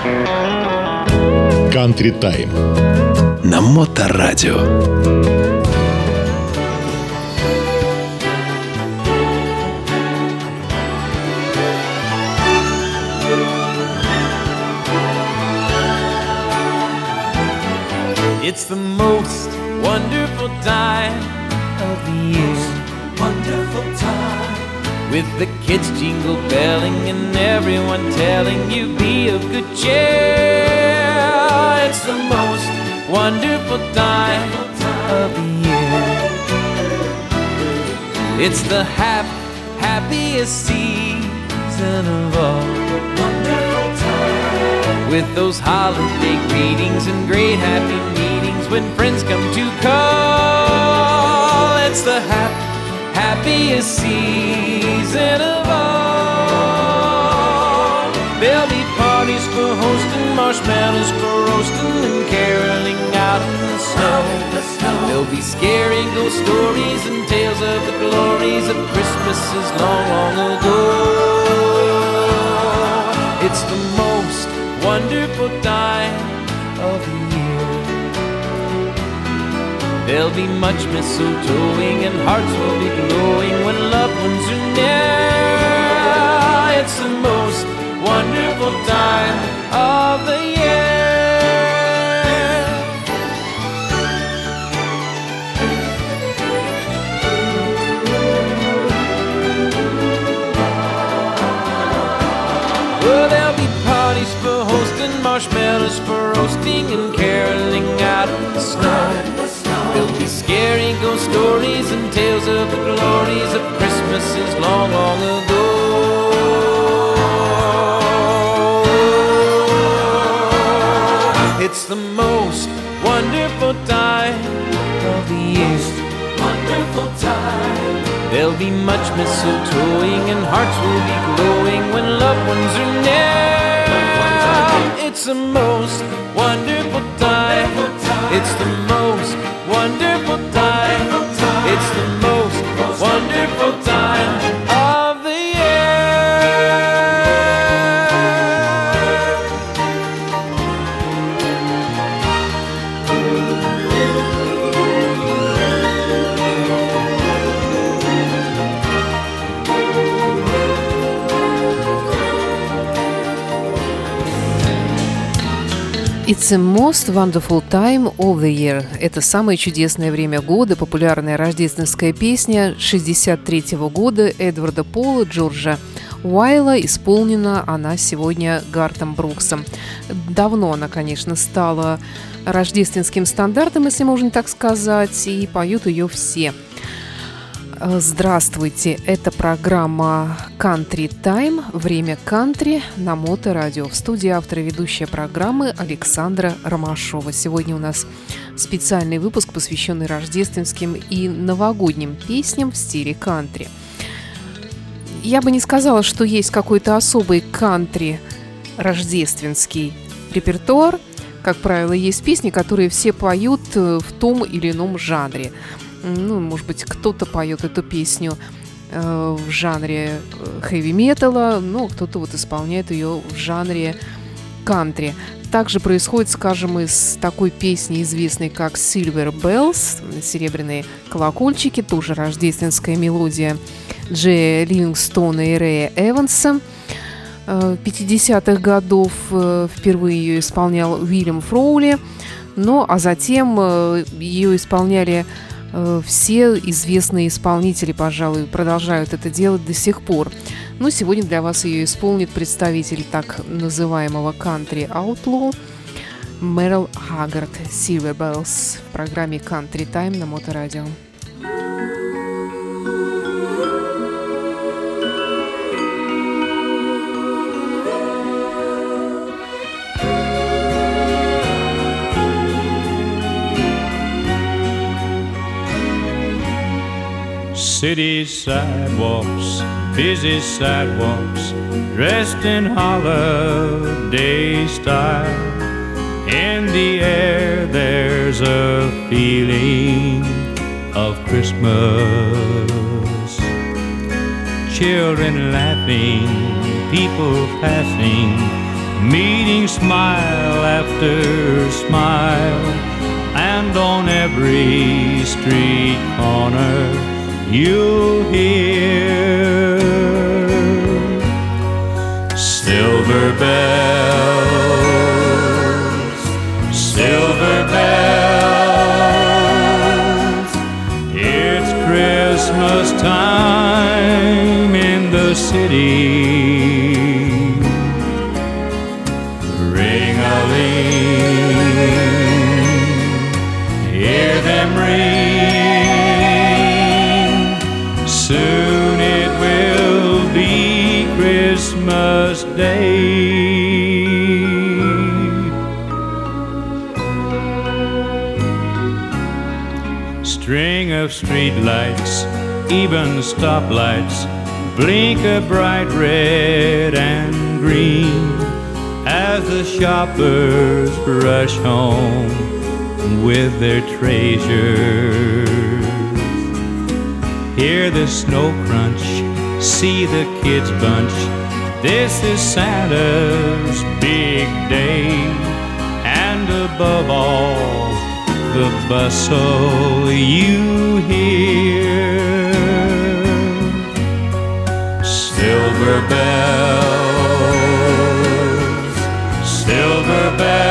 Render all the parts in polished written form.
Country Time на Моторадио. It's the most wonderful time of the year. Wonderful time. With the kids jingle belling and everyone telling you be of good cheer. It's the most wonderful time of the year. It's the happiest season of all. Wonderful time. With those holiday greetings and great happy meetings when friends come to call. It's the happiest season of all. There'll be parties for hosting, marshmallows for roasting, and caroling out in the snow. There'll be scary ghost stories and tales of the glories of Christmases long, long ago. It's the most wonderful time of the year. There'll be much mistletoeing and hearts will be glowing when loved ones are near. It's the most wonderful time of the year. Well, there'll be parties for hosting, marshmallows for roasting, and caroling out in the snow. There'll be scary ghost stories and tales of the glories of Christmases long, long ago. It's the most wonderful time of the year. Wonderful time. There'll be much mistletoeing and hearts will be glowing when loved ones are near. It's the most wonderful time. It's the most wonderful time. It's the most wonderful time of the year. It's the most wonderful time of the year. Это самое чудесное время года, популярная рождественская песня 1963 года Эдварда Пола, Джорджа Уайла. Исполнена она сегодня Гартом Бруксом. Давно она, конечно, стала рождественским стандартом, если можно так сказать, и поют ее все. Здравствуйте, это программа Country Time, время кантри на Моторадио. В студии автор и ведущая программы Александра Ромашова. Сегодня у нас специальный выпуск, посвященный рождественским и новогодним песням в стиле кантри. Я бы не сказала, что есть какой-то особый кантри рождественский репертуар. Как правило, есть песни, которые все поют в том или ином жанре. Ну, может быть, кто-то поет эту песню в жанре хэви-металла, но кто-то вот исполняет ее в жанре кантри. Также происходит, скажем, из такой песни, известной как Silver Bells, серебряные колокольчики, тоже рождественская мелодия Джея Ливингстона и Рэя Эванса. 50-х годов впервые ее исполнял Уильям Фроули, а затем ее исполняли все известные исполнители, пожалуй, продолжают это делать до сих пор. Но сегодня для вас ее исполнит представитель так называемого country outlaw Мерл Хаггард, Silver Bells, в программе Country Time на Моторадио. City sidewalks, busy sidewalks, dressed in holiday style. In the air there's a feeling of Christmas. Children laughing, people passing, meeting smile after smile, and on every street corner you'll hear silver bells, silver bells. It's Christmas time in the city. Soon it will be Christmas Day. String of streetlights, even stoplights, blink a bright red and green as the shoppers rush home with their treasures. Hear the snow crunch, see the kids bunch. This is Santa's big day, and above all, the bustle you hear. Silver bells, silver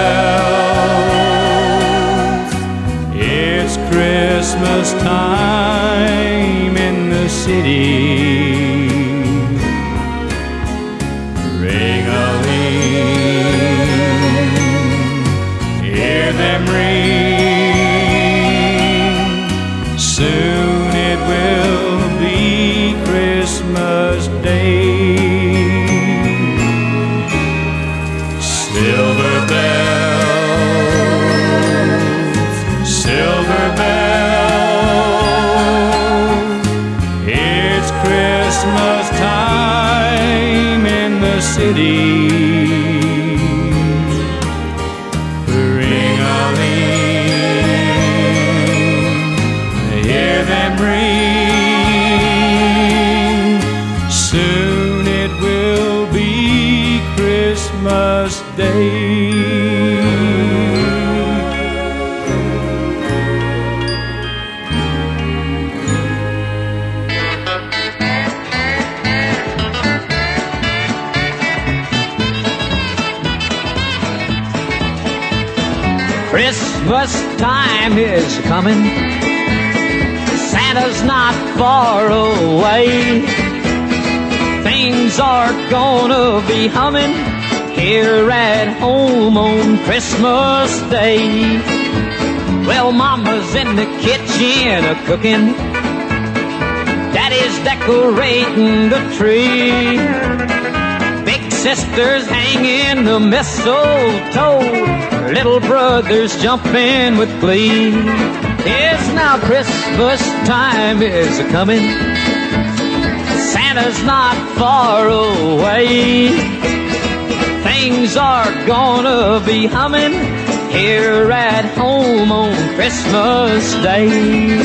bells. It's Christmas time in the city. Ring-a-ling, hear them ring. Soon it will be Christmas Day. Silver bells, silver bells. It's Christmas time in the city. Ring-a-ling, hear them ring. Soon it will be Christmas Day. Christmas time is coming. Santa's not far away. Things are gonna be humming here at home on Christmas Day. Well, Mama's in the kitchen a-cooking. Daddy's decorating the tree. Big sister's hanging the mistletoe. Little brother's jumping with glee. It's now Christmas time is a-coming. Santa's not far away. Things are gonna be humming here at home on Christmas Day.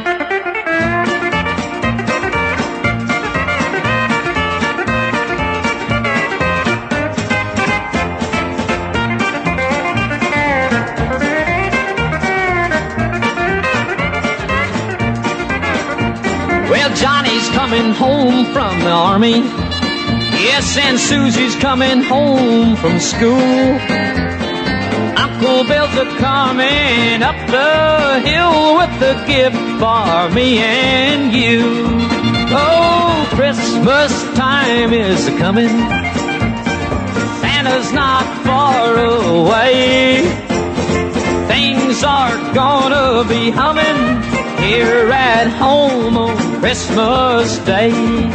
Johnny's coming home from the army. Yes, and Susie's coming home from school. Uncle Bill's a-coming up the hill with a gift for me and you. Oh, Christmas time is a-coming. Santa's not far away. Things are gonna be humming here at home on Christmas Day.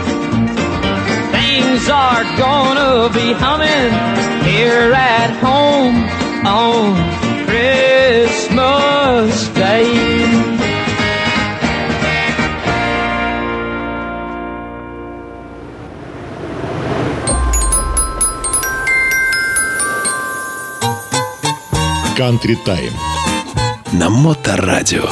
Things are gonna be humming here at home on Christmas Day. Country Time на Моторадио.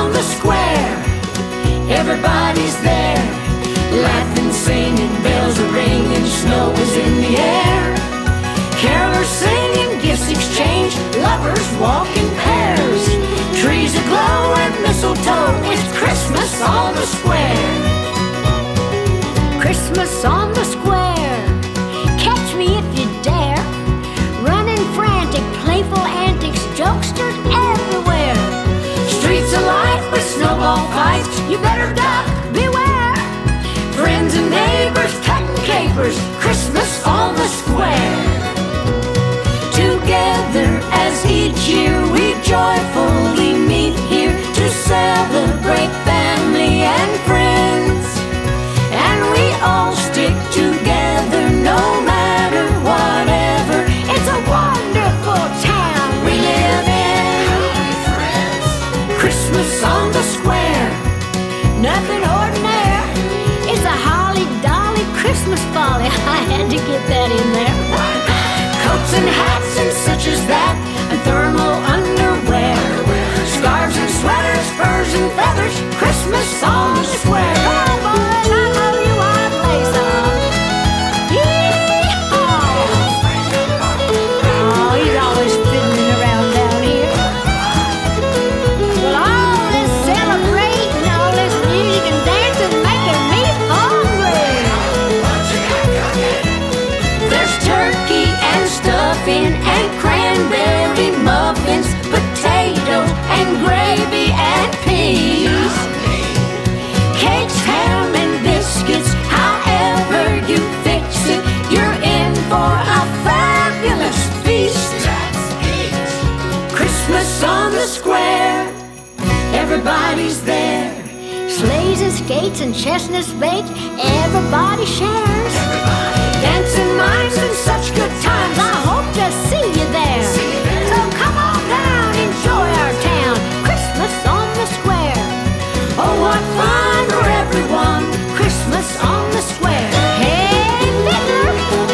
on the square. Everybody's there, laughing, singing, bells are ringing, snow is in the air. Carolers singing, gifts exchanged, lovers walk in pairs. Trees aglow and mistletoe, it's Christmas on the square. Christmas on the square, catch me if you dare. Running frantic, playful antics, jokesters everywhere. Streets alight with snowball fights, you better duck, beware. Friends and neighbors cutting capers, Christmas on the square. Together as each year we joyfully meet here to celebrate family and friends. And we all stick together no matter whatever. It's a wonderful town we live in. Christmas on the square, nothing ordinary. It's a holly dolly Christmas folly. I had to get that in there. Coats and hats and such as that, and thermal underwear, scarves and sweaters, furs and feathers, Christmas on the square. Come on, boys, I know you want to play some. Yee-haw! Oh, he's always fiddling around down here. Well, all this celebrating, all this music and dancing making me hungry. There's turkey and stuffing and cranberry muffins, potatoes and gravy and peas, cakes, ham and biscuits, however you fix it, you're in for a fabulous feast. Christmas on the square, everybody's there. Sleighs and skates and chestnuts baked, everybody shares. Dancing mimes and such good times, I hope to see you there. So come on down, enjoy our town, Christmas on the square. Oh, what fun for everyone, Christmas on the square. Hey, fiddler,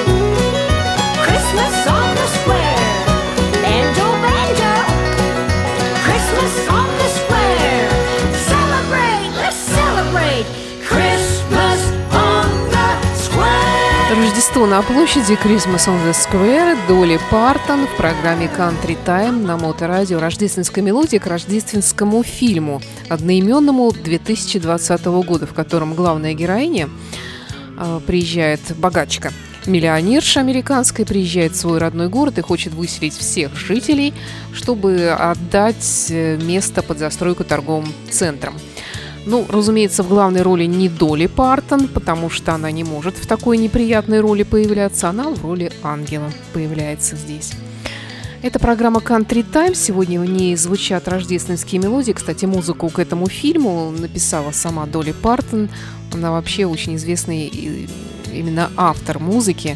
Christmas on the square. Banjo, banjo, Christmas on the square. Celebrate, let's celebrate, Christmas on the square. Рождество на площади, Christmas on the Square, Долли Партон в программе Country Time на Моторадио. Рождественская мелодия к рождественскому фильму, одноименному 2020 года, в котором главная героиня приезжает, богачка, миллионерша американская, приезжает в свой родной город и хочет выселить всех жителей, чтобы отдать место под застройку торговым центром. Ну, разумеется, в главной роли не Долли Партон, потому что она не может в такой неприятной роли появляться. Она в роли ангела появляется здесь. Это программа Country Time. Сегодня в ней звучат рождественские мелодии. Кстати, музыку к этому фильму написала сама Долли Партон. Она вообще очень известный именно автор музыки,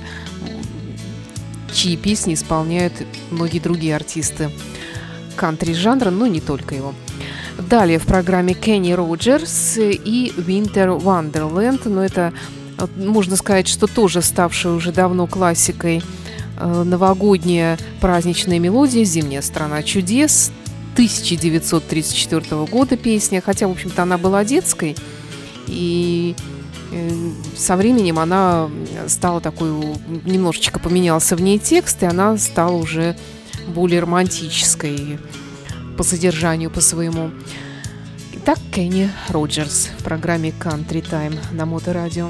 чьи песни исполняют многие другие артисты кантри-жанра, но не только его. Далее в программе Кенни Роджерс и Winter Wonderland, но это, можно сказать, что тоже ставшая уже давно классикой новогодняя праздничная мелодия «Зимняя страна чудес», 1934 года песня, хотя, в общем-то, она была детской, и со временем она стала такой, немножечко поменялся в ней текст, и она стала уже более романтической по содержанию, по своему. Итак, Кенни Роджерс в программе Country Time на Моторадио.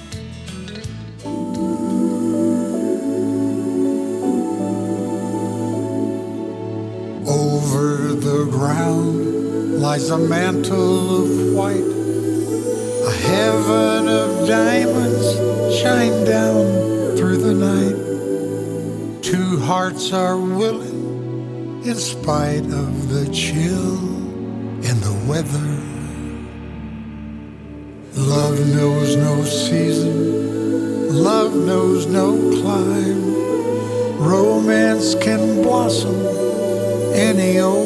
Over the ground lies a mantle of white, a heaven of diamonds shine down through the night. Two hearts are willing in spite of the chill in the weather. Love knows no season, love knows no clime. Romance can blossom any old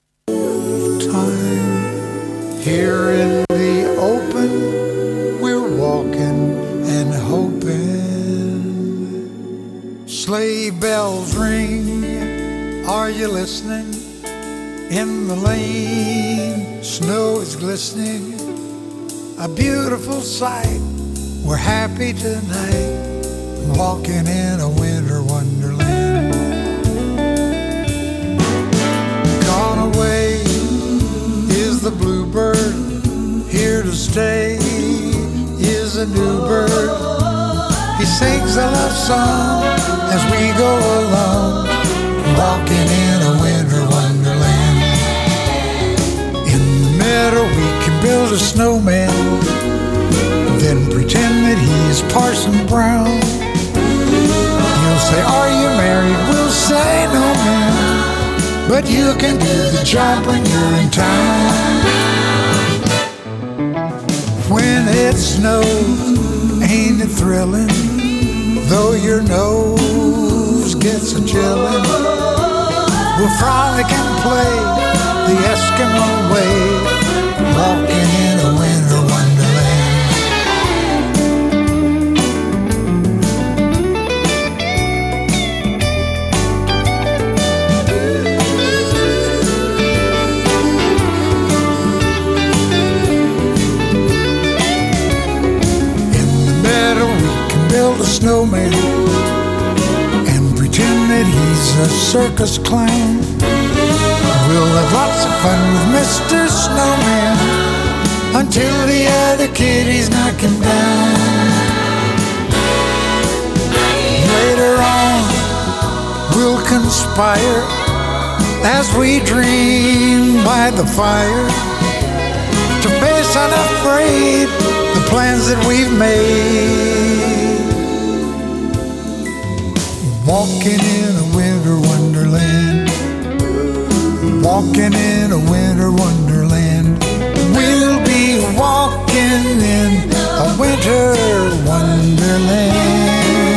time. Here in the open, we're walking and hoping. Sleigh bells ring, are you listening? In the lane, snow is glistening, a beautiful sight. We're happy tonight, walking in a winter wonderland. Gone away is the bluebird, here to stay is a new bird. He sings a love song as we go along, walking in a winter wonderland. In the meadow we can build a snowman, then pretend that he's Parson Brown. He'll say, "Are you married?" We'll say, "No, man," but you can do the job when you're in town. When it snows, ain't it thrilling? Though your nose gets a chillin', we'll frolic and play the Eskimo way, walking in a winter wonderland. In the meadow we can build a snowman and pretend that he's a circus clown. We'll have lots of fun with Mr. Snowman until the other kitties knock him down. Later on, we'll conspire as we dream by the fire to face unafraid the plans that we've made. Walking in a winter wonderland, walking in a winter wonderland. We'll be walking in a winter wonderland.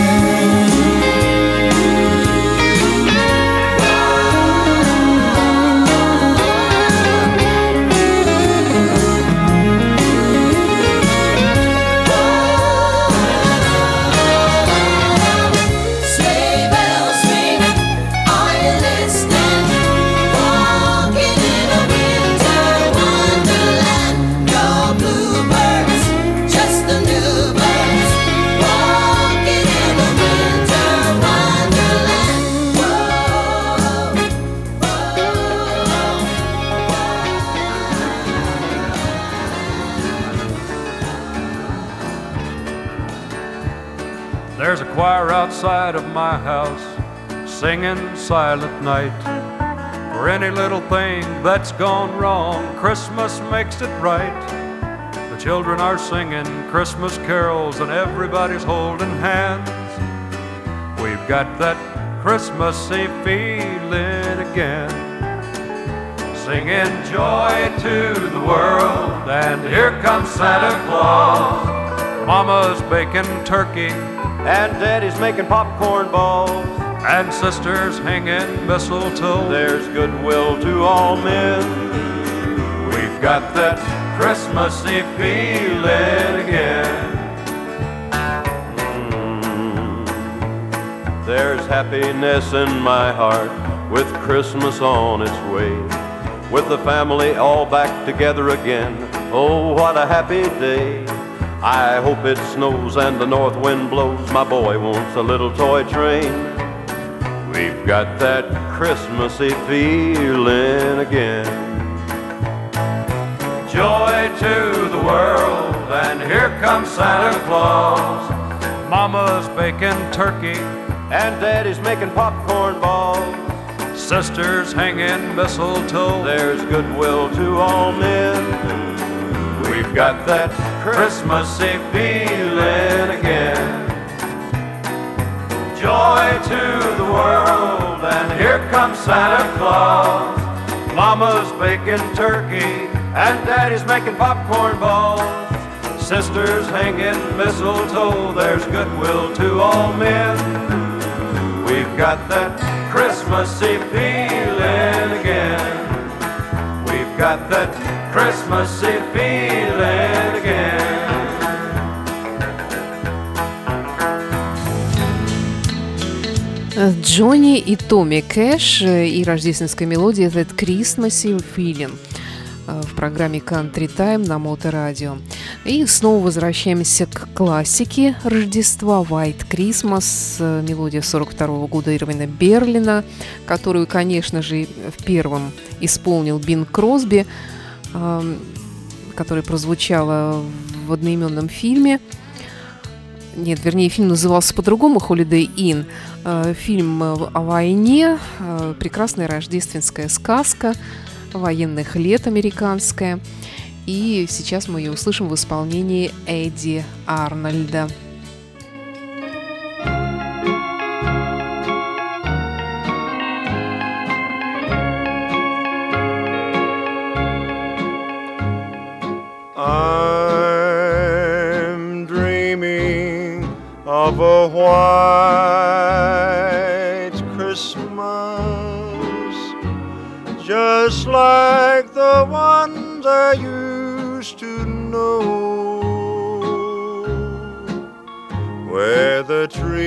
There's a choir outside of my house singing Silent Night. For any little thing that's gone wrong, Christmas makes it right. The children are singing Christmas carols and everybody's holding hands. We've got that Christmassy feeling again. Singing joy to the world, and here comes Santa Claus. Mama's baking turkey, and Daddy's making popcorn balls, and Sister's hanging mistletoe. There's goodwill to all men. We've got that Christmassy feeling again. There's happiness in my heart with Christmas on its way, with the family all back together again. Oh, what a happy day. I hope it snows and the north wind blows. My boy wants a little toy train. We've got that Christmassy feeling again. Joy to the world, and here comes Santa Claus. Mama's baking turkey, and Daddy's making popcorn balls. Sister's hanging mistletoe. There's goodwill to all men. We've got that Christmassy feeling again. Joy to the world, and here comes Santa Claus. Mama's baking turkey, and Daddy's making popcorn balls. Sister's hanging mistletoe. There's goodwill to all men. We've got that Christmassy feeling again. We've got that Christmassy feeling again. Джонни и Томми Кэш и рождественская мелодия «That Christmas Feeling» в программе Country Time на Моторадио. И снова возвращаемся к классике Рождества «White Christmas», мелодия 1942 года Ирвина Берлина, которую, конечно же, первым исполнил Бин Кросби, которая прозвучала в одноименном фильме. Нет, вернее, фильм назывался по-другому «Holiday Inn». Фильм о войне, прекрасная рождественская сказка военных лет американская. И сейчас мы ее услышим в исполнении Эдди Арнольда. I'm dreaming of a white Christmas, just like the ones I used to know, where the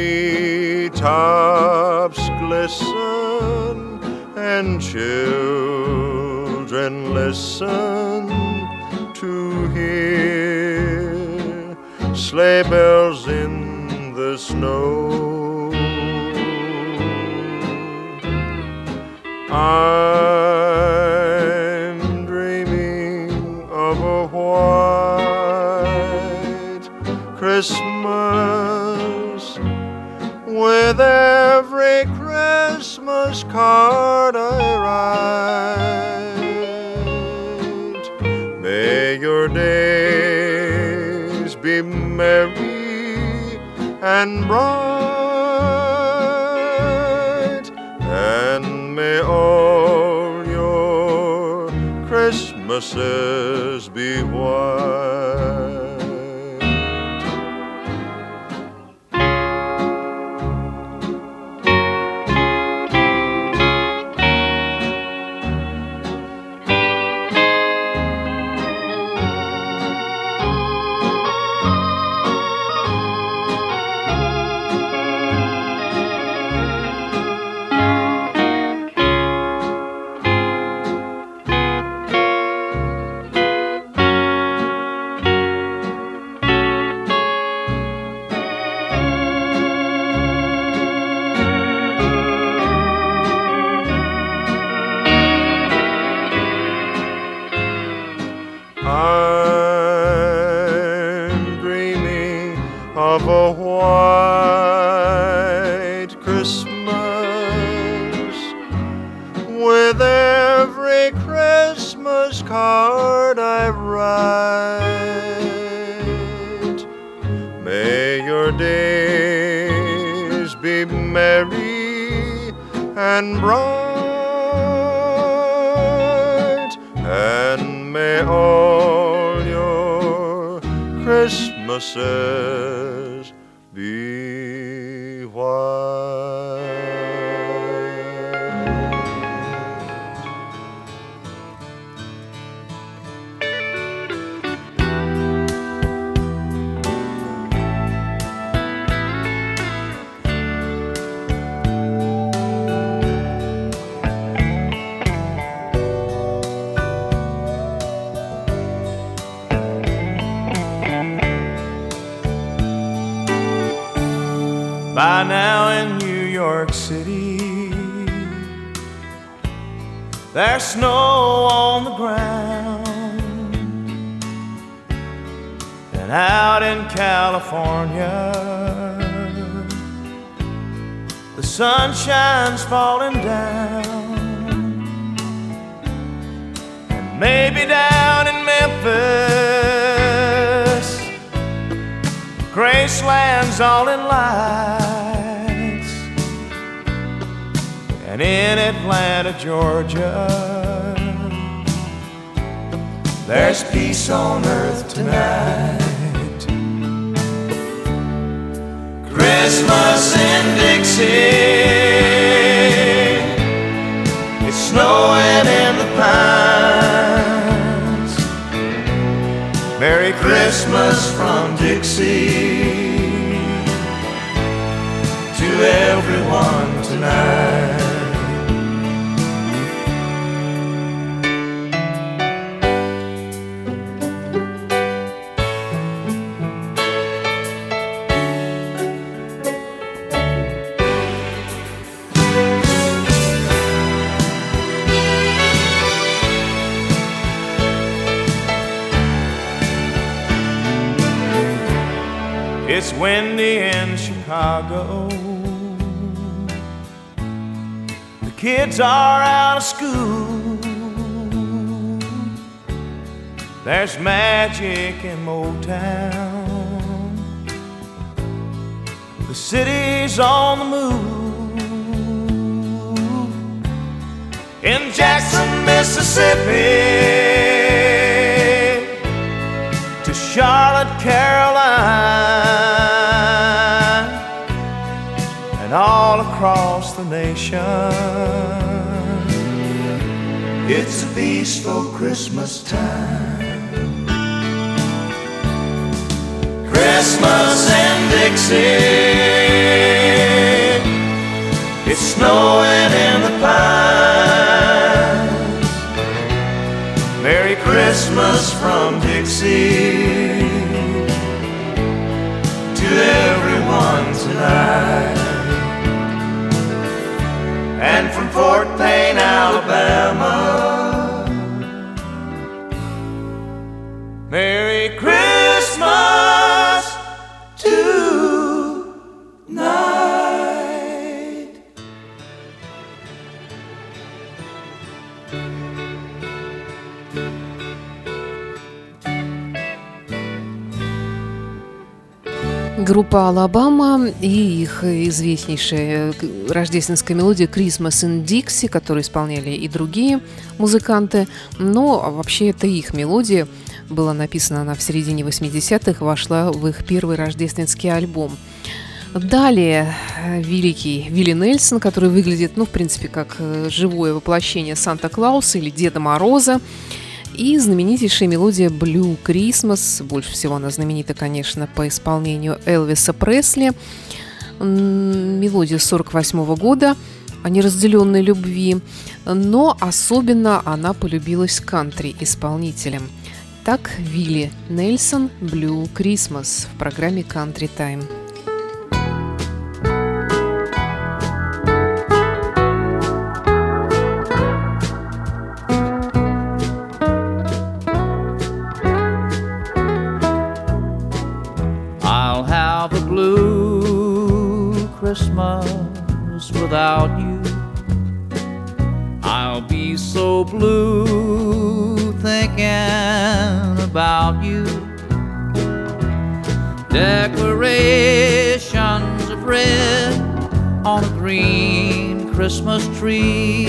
treetops glisten and children listen to hear sleigh bells in the snow. I'm dreaming of a white Christmas, with every Christmas card I write. May your days be merry and bright, and may all your Christmases be white. I'm dreaming of a white Christmas, with every Christmas card I write. May your days be merry and bright, and may all your Christmases be white. By now in New York City, there's snow on the ground, and out in California, the sunshine's falling down, and maybe down in Memphis, Graceland's all in lights, and in Atlanta, Georgia, there's peace on earth tonight. Christmas in Dixie, it's snowing in the pines. Merry Christmas from Dixie to everyone tonight. tonight. It's windy in Chicago. The kids are out of school. There's magic in Motown. The city's on the move. In Jackson, Mississippi, to Charlotte, Carolina, and all across the nation. It's a peaceful Christmas time. Christmas in Dixie, it's snowing in the pines. Merry Christmas from Dixie to everyone tonight. And from Fort Payne, Alabama, Merry Christmas tonight. Группа «Алабама» и их известнейшая рождественская мелодия «Christmas in Dixie», которую исполняли и другие музыканты. Но вообще это их мелодия. Была написана она в середине 80-х, вошла в их первый рождественский альбом. Далее великий Вилли Нельсон, который выглядит, в принципе, как живое воплощение Санта-Клауса или Деда Мороза. И знаменитейшая мелодия «Blue Christmas». Больше всего она знаменита, конечно, по исполнению Элвиса Пресли. Мелодия 1948 года о неразделенной любви. Но особенно она полюбилась кантри-исполнителям. Так, Вилли Нельсон «Blue Christmas» в программе «Country Time». Christmas without you. I'll be so blue thinking about you. Decorations of red on a green Christmas tree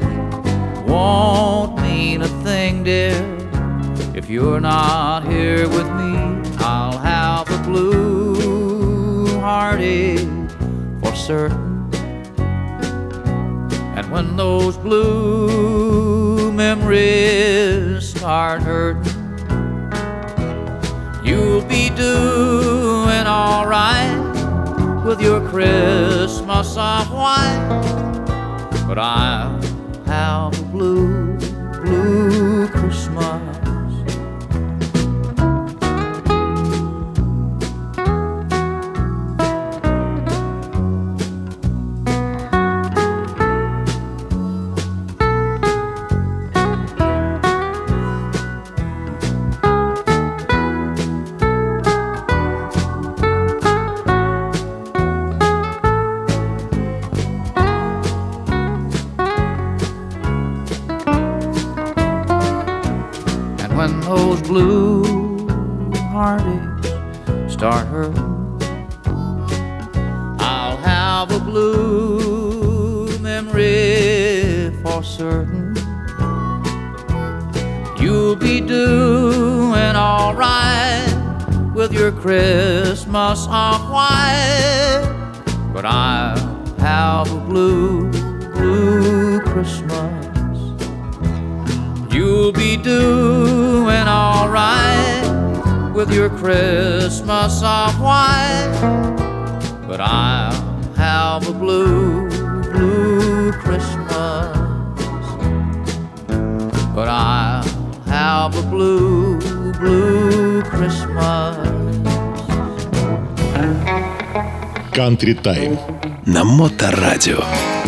won't mean a thing, dear, if you're not here with me. I'll have a blue heartache for certain. And when those blue memories start hurting, you'll be doing all right with your Christmas of white. But I'll have a blue, blue Christmas. When those blue heartaches start hurting, I'll have a blue memory for certain. You'll be doing all right with your Christmas of white. But I'll have a blue, blue Christmas. You'll be doing all right with your Christmas of white. But I'll have a blue, blue have a blue, blue Christmas. Country Time на Моторадио.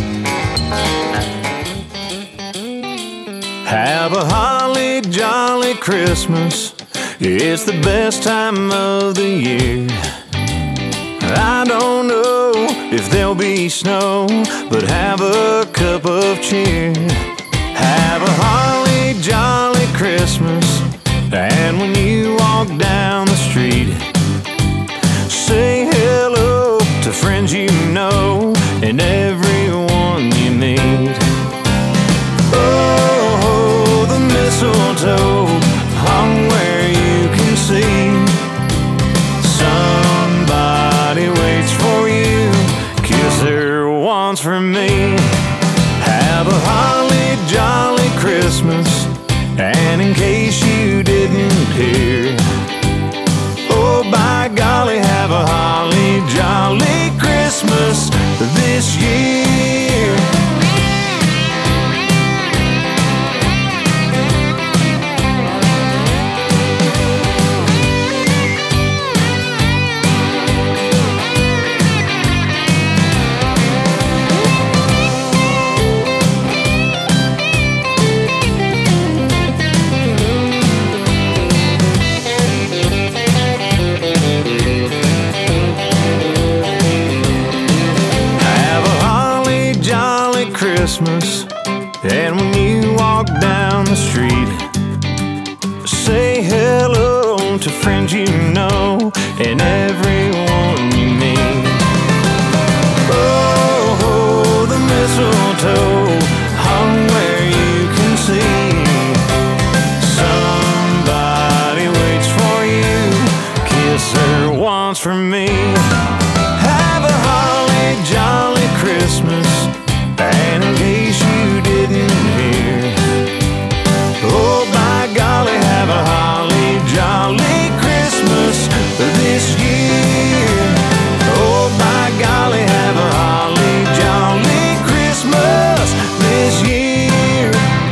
Have a holly jolly Christmas. It's the best time of the year. I don't know if there'll be snow, but have a cup of cheer. Have a holly jolly Christmas. And when you walk down the street, say hello to friends you know and everyone you meet. Oh, the mistletoe hung where you can see. Somebody waits for you, kiss her once for me. Have a holly jolly Christmas. And in case you didn't hear, oh by golly, have a holly jolly Christmas this year. Christmas. And when you walk down the street, say hello to friends you know and everyone you meet. Oh, the mistletoe hung where you can see. Somebody waits for you, kiss her once for me. Have a holly jolly Christmas. And in case you didn't hear, oh by golly, have a holly jolly Christmas this year. Oh by golly, have a holly jolly Christmas this year.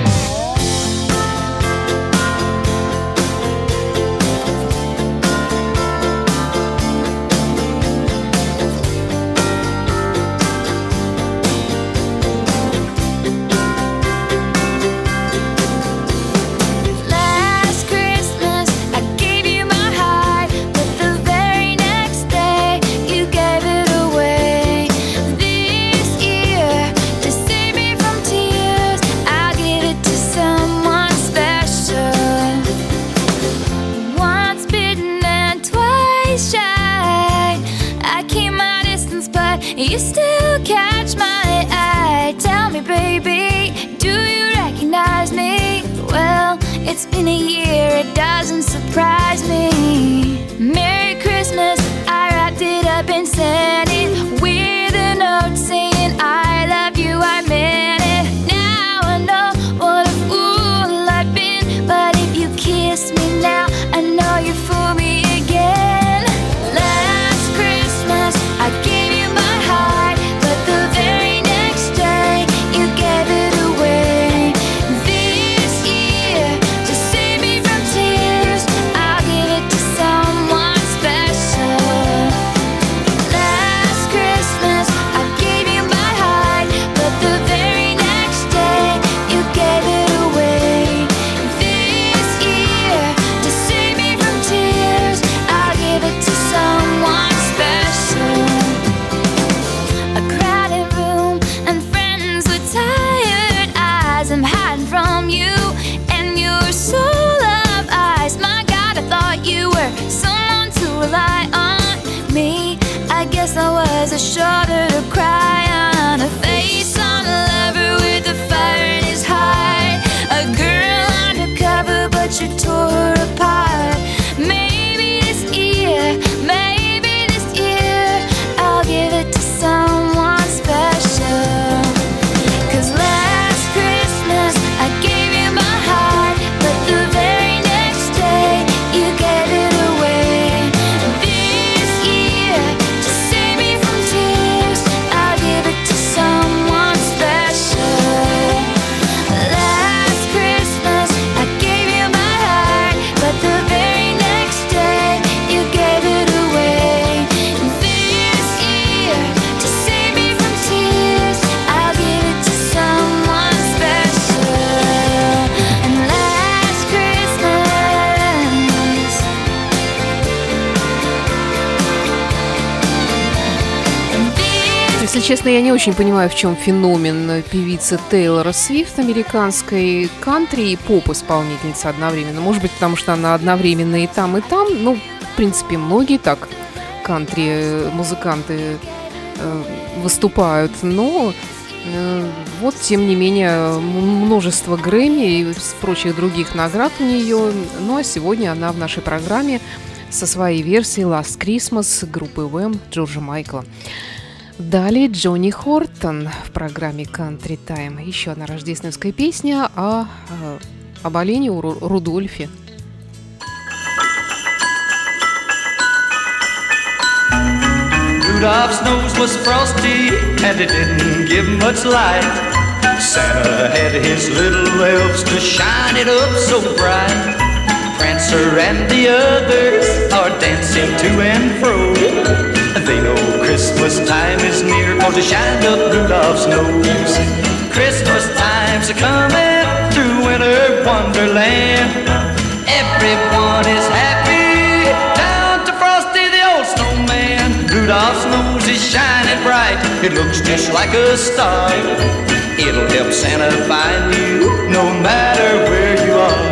You still catch my eye. Tell me, baby, do you recognize me? Well, it's been a year, it doesn't surprise me. Merry Christmas, I wrapped it up and sent it with a note saying I love you, I meant it. Now I know what a fool I've been, but if you kiss me now, I know you fool me again. Last Christmas, I gave you my heart, but the very next day you gave it away. This year, to save me from tears, I'll give it честно, я не очень понимаю, в чем феномен певицы Тейлор Свифт, американской кантри и поп-исполнительницы одновременно. Может быть, потому что она одновременно и там, и там. Ну, в принципе, многие так кантри-музыканты выступают. Но вот, тем не менее, множество Грэмми и прочих других наград у нее. Ну, а сегодня она в нашей программе со своей версией Last Christmas группы Wham Джорджа Майкла. Далее Джонни Хортон в программе Country Time. Еще одна рождественская песня об олене Рудольфе. Rudolph's nose was frosty and it didn't give much light. Santa had his little elves to shine it up so bright. Prancer and the others are dancing to and fro. They know Christmas time is near, 'cause they shine up Rudolph's nose. Christmas time's a-coming through winter wonderland. Everyone is happy down to Frosty the old snowman. Rudolph's nose is shining bright, it looks just like a star. It'll help Santa find you no matter where you are.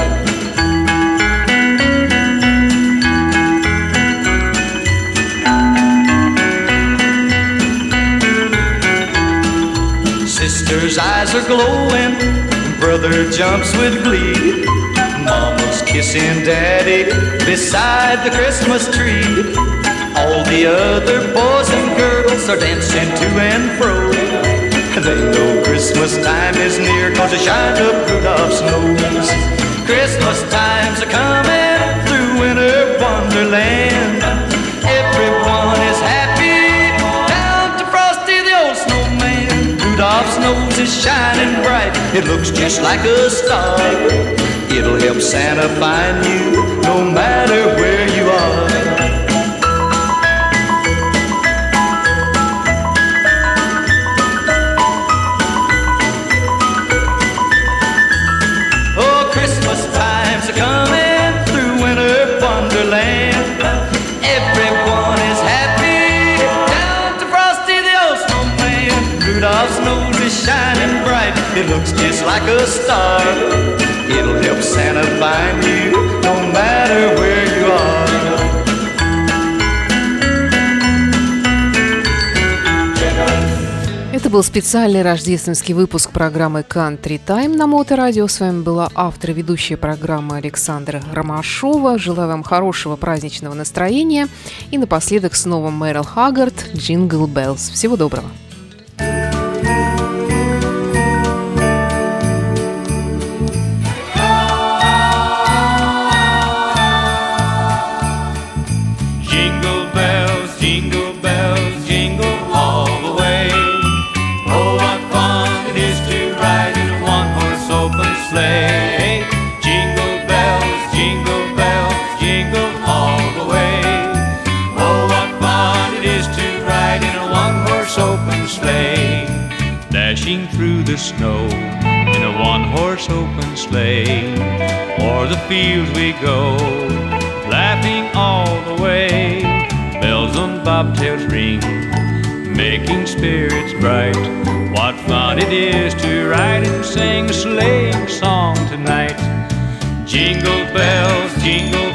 Sister's eyes are glowing, brother jumps with glee. Mama's kissing daddy beside the Christmas tree. All the other boys and girls are dancing to and fro. They know Christmas time is near, 'cause they shine up Rudolph's nose. Christmas time's a-coming through winter wonderland. Everyone is happy down to Frosty the old snowman. Rudolph's nose is shining bright, it looks just like a star. It'll help Santa find you no matter where you are. Oh, Christmas time's a-coming through winter wonderland. Everyone is happy down to Frosty the old snowman. Rudolph's nose is shining bright, it looks just like a star. It'll help Santa find you no matter where you are. Это был специальный рождественский выпуск программы Country Time на Моторадио. С вами была автор и ведущая программы Александра Ромашова. Желаю вам хорошего праздничного настроения. И напоследок снова Мэрил Хаггард, Jingle Bells. Всего доброго. Sleigh. Jingle bells, jingle all the way. Oh, what fun it is to ride in a one-horse open sleigh. Dashing through the snow in a one-horse open sleigh. O'er the fields we go, laughing all the way. Bells on bobtails ring, making spirits bright. What fun it is to ride and sing a sleighing song tonight. Jingle bells, jingle